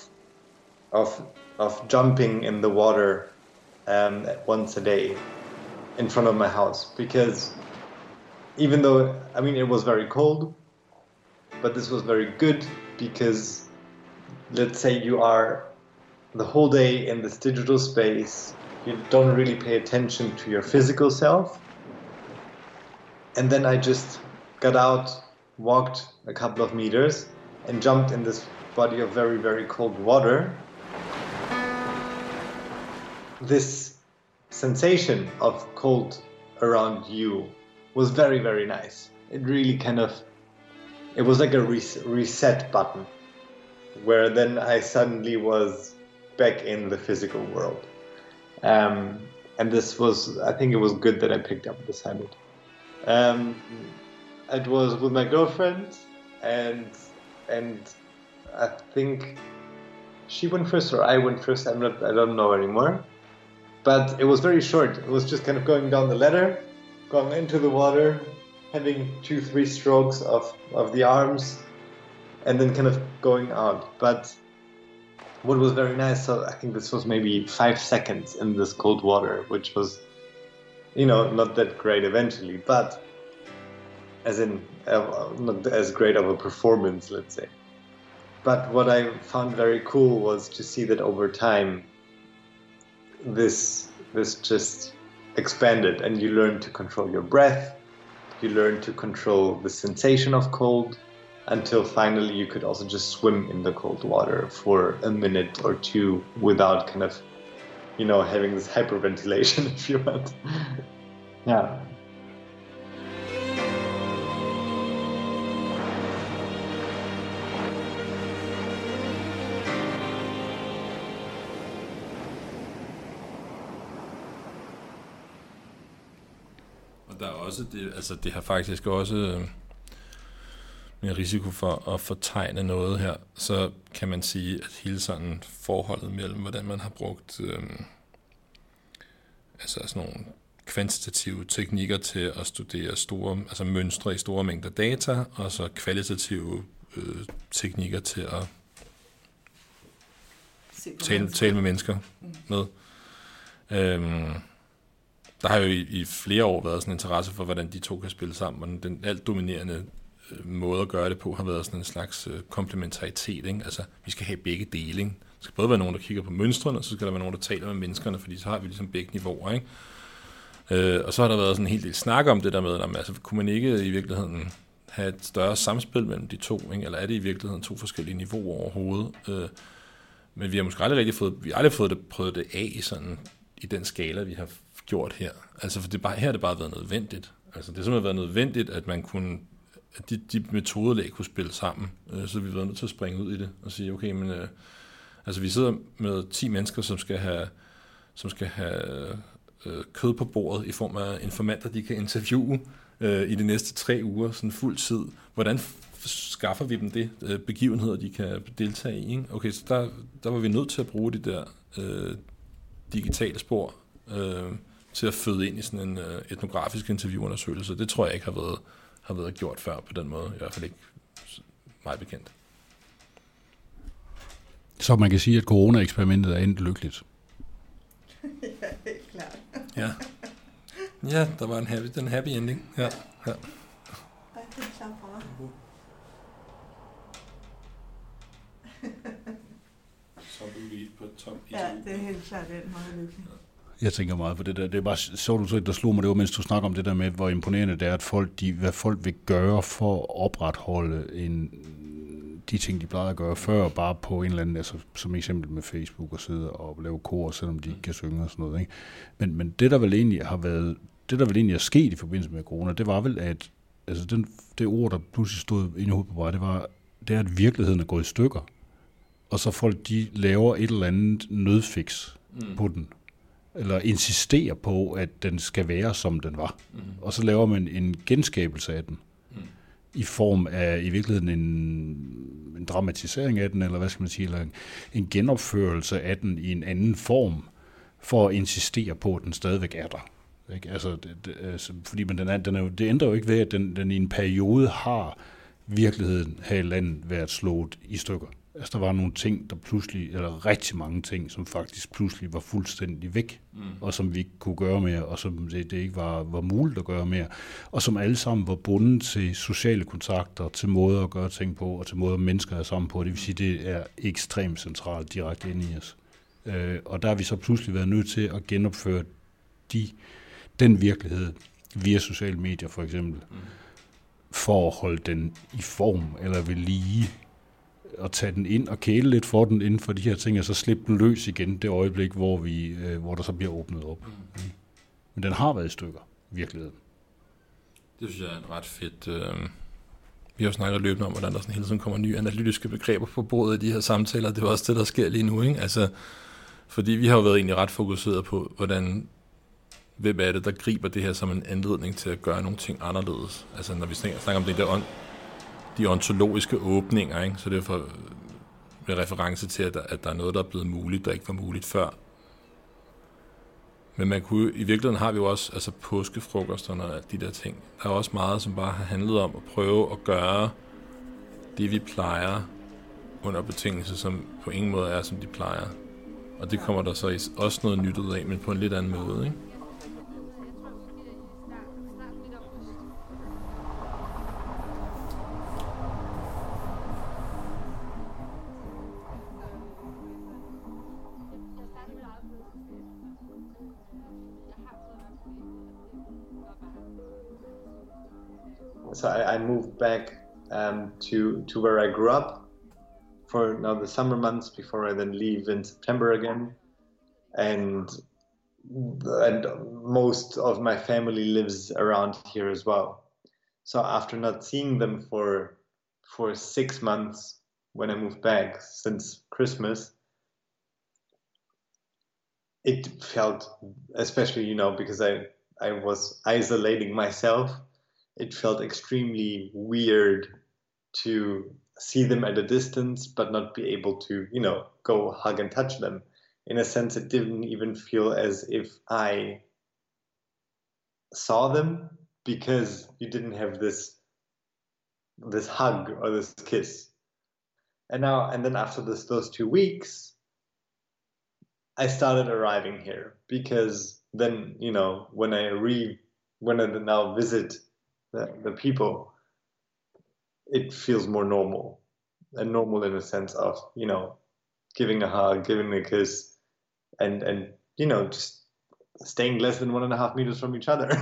of jumping in the water once a day in front of my house, because even though, I mean, it was very cold, but this was very good because, let's say you are the whole day in this digital space, you don't really pay attention to your physical self. And then I just got out, walked a couple of meters, and jumped in this body of very, very cold water. This sensation of cold around you was very, very nice. It really it was like a reset button, where then I suddenly was back in the physical world. And I think it was good that I picked up this habit. It was with my girlfriend, and I think she went first or I went first. I don't know anymore. But it was very short. It was just kind of going down the ladder, going into the water, having 2-3 strokes of the arms, and then kind of going out. But what was very nice, so I think this was maybe 5 seconds in this cold water, which was, not that great eventually, but as in not as great of a performance, let's say. But what I found very cool was to see that over time, this just expanded, and you learn to control your breath, you learn to control the sensation of cold, until finally you could also just swim in the cold water for a minute or two without kind of, having this hyperventilation, if you want. Yeah. Der er også det har faktisk også med risiko for at fortegne noget her, så kan man sige, at hele sådan forholdet mellem, hvordan man har brugt sådan nogle kvantitative teknikker til at studere mønstre i store mængder data, og så kvalitative teknikker til at tale med mennesker med. Der har jo i flere år været sådan en interesse for, hvordan de to kan spille sammen, og den alt dominerende måde at gøre det på har været sådan en slags komplementaritet. Ikke? Altså, vi skal have begge dele. Ikke? Der skal både være nogen, der kigger på mønstrene, og så skal der være nogen, der taler med menneskerne, fordi så har vi ligesom begge niveauer. Ikke? Og så har der været sådan en hel del snak om det der med, altså, kunne man ikke i virkeligheden have et større samspil mellem de to, ikke? Eller er det i virkeligheden 2 forskellige niveauer overhovedet? Men vi har måske aldrig prøvet det af i den skala, vi har gjort her. Altså, for her har det bare været nødvendigt. Altså, det har simpelthen været nødvendigt, at man kunne, at de metodelag kunne spille sammen. Så vi har været nødt til at springe ud i det og sige, okay, men altså, vi sidder med 10 mennesker, som skal have kød på bordet i form af informanter, de kan interviewe i de næste 3 uger, sådan fuld tid. Hvordan skaffer vi dem det? Begivenheder, de kan deltage i, ikke? Okay, så der var vi nødt til at bruge de der digitale spor til at føde ind i sådan en etnografisk interviewundersøgelse. Det tror jeg ikke har været gjort før på den måde, i hvert fald ikke meget bekendt. Så man kan sige, at corona-eksperimentet er endt lykkeligt. Ja, helt klart. Ja, der var en happy ending. Ja. Ej, det er klart for mig. Så er du lige på top. Ja, det er helt klart den meget lykkelig. Jeg tænker meget på det der. Det er bare så der slog mig det var, mens du snakker om det der med, hvor imponerende det er, at hvad folk vil gøre for at opretholde de ting, de plejede at gøre før, bare på en eller anden, altså som eksempel med Facebook og sidde og lave kor, selvom de ikke kan synge og sådan noget. Ikke? Men det der vel egentlig er sket i forbindelse med corona, det var vel, at altså det ord, der pludselig stod inde i hovedet på mig, det er, at virkeligheden er gået i stykker. Og så folk, de laver et eller andet nødfix på den. Eller insisterer på, at den skal være, som den var. Og så laver man en genskabelse af den. I form af, i virkeligheden, en dramatisering af den, eller hvad skal man sige, eller en genopførelse af den i en anden form, for at insistere på, at den stadigvæk er der. Ikke? Altså, fordi det ændrer jo ikke ved, at den i en periode har virkeligheden her i landet været slået i stykker. Altså, der var nogle ting, der pludselig, eller rigtig mange ting, som faktisk pludselig var fuldstændig væk, og som vi ikke kunne gøre mere, og som det ikke var muligt at gøre mere, og som alle sammen var bundet til sociale kontakter, til måder at gøre ting på, og til måder, mennesker er sammen på. Det vil sige, det er ekstremt centralt direkte inde i os. Og der har vi så pludselig været nødt til at genopføre den virkelighed via sociale medier, for eksempel, for at holde den i form, eller ved lige, og tage den ind og kæle lidt for den inden for de her ting, og så slippe den løs igen det øjeblik, hvor der så bliver åbnet op. Men den har været i stykker, i virkeligheden. Det synes jeg er en ret fedt. Vi har jo snakket løbende om, hvordan der sådan hele tiden kommer nye analytiske begreber på bordet i de her samtaler. Det er også det, der sker lige nu, ikke? Altså, fordi vi har jo været egentlig ret fokuseret på, hvem er det, der griber det her som en anledning til at gøre nogle ting anderledes. Altså, når vi snakker om det der de ontologiske åbninger, ikke? Så det er for med reference til, at der er noget, der er blevet muligt, der ikke var muligt før. Men i virkeligheden har vi jo også altså påskefrokosterne og de der ting. Der er også meget, som bare har handlet om at prøve at gøre det, vi plejer, under betingelser, som på ingen måde er, som de plejer. Og det kommer der så også noget nyt ud af, men på en lidt anden måde, ikke? So I moved back to where I grew up for now the summer months before I then leave in September again, and most of my family lives around here as well. So after not seeing them for 6 months when I moved back since Christmas, it felt, especially because I was isolating myself, it felt extremely weird to see them at a distance but not be able to, go hug and touch them. In a sense, it didn't even feel as if I saw them, because you didn't have this hug or this kiss. And then after those 2 weeks, I started arriving here, because then, when I now visit the people, it feels more normal, and normal in a sense of, giving a hug, giving a kiss, and just staying less than 1.5 meters from each other.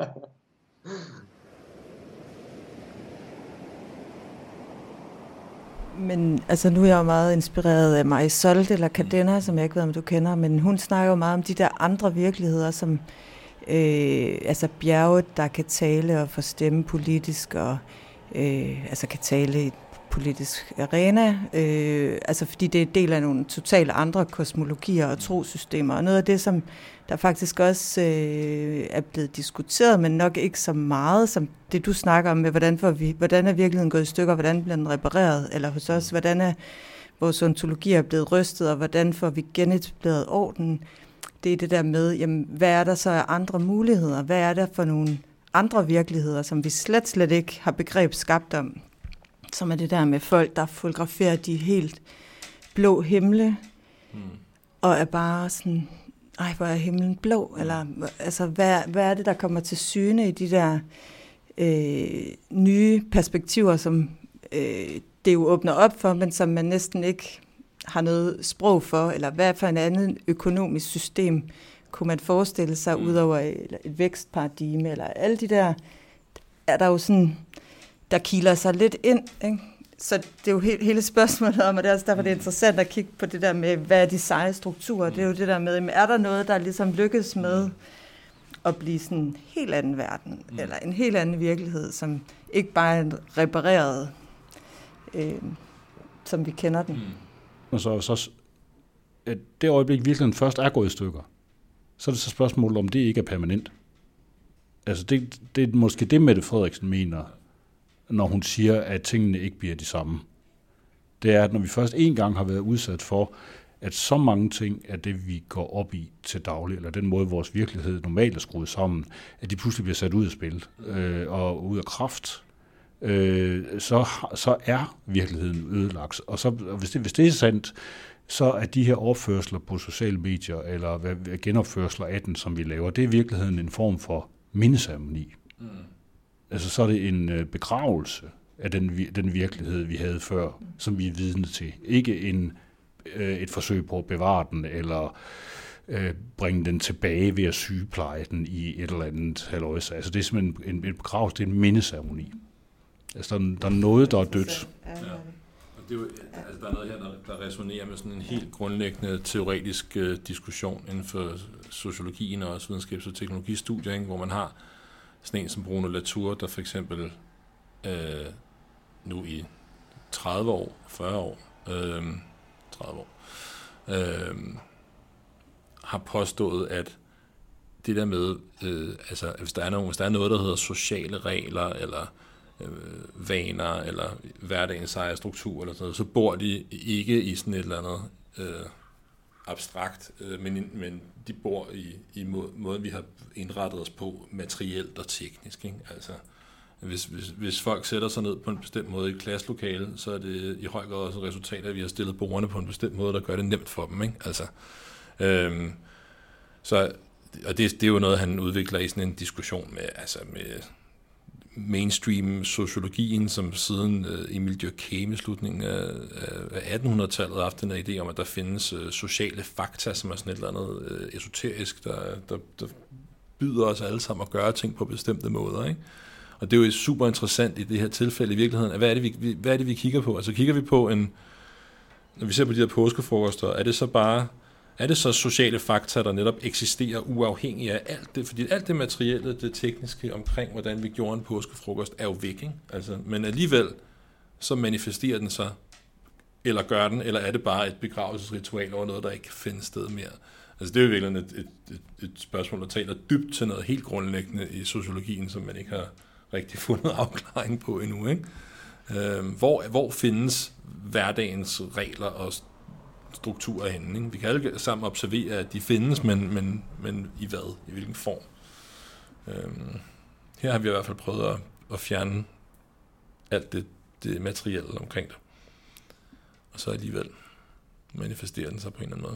Men altså, nu er jeg jo meget inspireret af Marisol eller Cadena, som jeg ikke ved, om du kender, men hun snakker jo meget om de der andre virkeligheder, som bjerge, der kan tale og få stemme politisk, og kan tale i et politisk arena, fordi det er en del af nogle totalt andre kosmologier og trosystemer, og noget af det, som der faktisk også er blevet diskuteret, men nok ikke så meget, som det du snakker om med, hvordan er virkeligheden gået i stykker, hvordan bliver den repareret, eller hos os, hvordan er vores ontologier blevet rystet, og hvordan får vi genetableret orden. Det er det der med, jamen, hvad er der så af andre muligheder? Hvad er der for nogle andre virkeligheder, som vi slet ikke har begreb skabt om? Som er det der med folk, der fotograferer de helt blå himle, og er bare sådan, ej, hvor er himlen blå? Eller, altså, hvad er det, der kommer til syne i de der nye perspektiver, som det jo åbner op for, men som man næsten ikke har noget sprog for, eller hvad for en anden økonomisk system kunne man forestille sig, udover et vækstparadigme, eller alle de der, er der jo sådan, der kiler sig lidt ind, ikke? Så det er jo hele spørgsmålet om, og det er også derfor, det er interessant at kigge på det der med, hvad er de seje strukturer? Det er jo det der med, er der noget, der ligesom lykkes med at blive sådan en helt anden verden, eller en helt anden virkelighed, som ikke bare er repareret, som vi kender den. Og så at det øjeblik virkelig først er gået i stykker, så er det så spørgsmålet, om det ikke er permanent. Altså det er måske det, Mette Frederiksen mener, når hun siger, at tingene ikke bliver de samme. Det er, at når vi først en gang har været udsat for, at så mange ting af det, vi går op i til daglig, eller den måde, vores virkelighed normalt er skruet sammen, at de pludselig bliver sat ud af spil og ud af kraft, så er virkeligheden ødelagt. Og så, hvis det er sandt, så er de her opførsler på sociale medier, eller genopførsler af den, som vi laver, det er i virkeligheden en form for mindeceremoni. Mm. Altså så er det en begravelse af den virkelighed, vi havde før, som vi er vidne til. Ikke et forsøg på at bevare den, eller bringe den tilbage ved at sygepleje den i et eller andet halløjse. Altså det er simpelthen en begravelse, det er en mindeceremoni. Altså der er noget, der er dødt. Ja. Det er jo, altså, der er noget her, der resonerer med sådan en helt grundlæggende teoretisk diskussion inden for sociologien og også videnskabs- og teknologistudier, ikke? Hvor man har sådan en som Bruno Latour, der for eksempel nu i 30 år, 40 år, 30 år, har påstået, at det der med, altså hvis der er noget, der hedder sociale regler, eller vaner, eller hverdagens ejerstruktur, eller sådan noget, så bor de ikke i sådan et eller andet abstrakt, men de bor i måden, vi har indrettet os på, materielt og teknisk. Ikke? Altså, hvis folk sætter sig ned på en bestemt måde i et klasselokale, så er det i høj grad også et resultat af, at vi har stillet bordene på en bestemt måde, der gør det nemt for dem. Ikke? Altså, og det er jo noget, han udvikler i sådan en diskussion med mainstream sociologien, som siden Emil Durkheim i slutningen af 1800-tallet har haft den her idé om, at der findes sociale fakta, som er sådan et eller andet esoterisk, der byder os alle sammen at gøre ting på bestemte måder. Ikke? Og det er jo super interessant i det her tilfælde i virkeligheden. Hvad er det, vi kigger på? Altså kigger vi på når vi ser på de her påskefrokoster, er det så sociale fakta, der netop eksisterer uafhængigt af alt det? Fordi alt det materielle, det tekniske omkring, hvordan vi gjorde en påskefrokost, er jo væk, ikke? Altså, men alligevel, så manifesterer den sig, eller gør den, eller er det bare et begravelsesritual over noget, der ikke kan finde sted mere? Altså, det er jo virkelig et spørgsmål, der taler dybt til noget helt grundlæggende i sociologien, som man ikke har rigtig fundet afklaring på endnu, ikke? Hvor findes hverdagens regler og strukturer henne, ikke? Vi kan alle sammen observere, at de findes, men i hvad? I hvilken form? Her har vi i hvert fald prøvet at fjerne alt det materielle omkring det. Og så alligevel manifesterer den sig på en eller anden måde.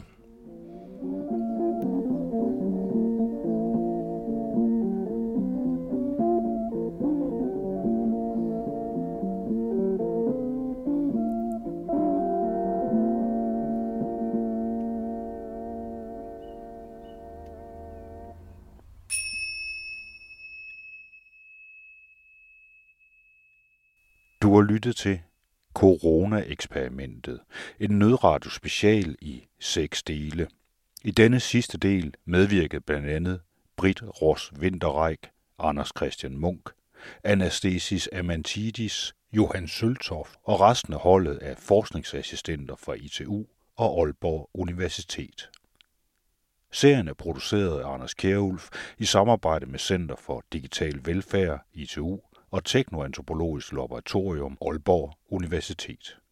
Du har lyttet til Corona-eksperimentet, en nødradio-special i 6 dele. I denne sidste del medvirkede blandt andet Britt Ross Winterreich, Anders Christian Munk, Anastasis Amantidis, Johan Søltoft og resten af holdet af forskningsassistenter fra ITU og Aalborg Universitet. Serien er produceret af Anders Kjærulf i samarbejde med Center for Digital Velfærd, ITU, og Teknoantropologisk Laboratorium, Aalborg Universitet.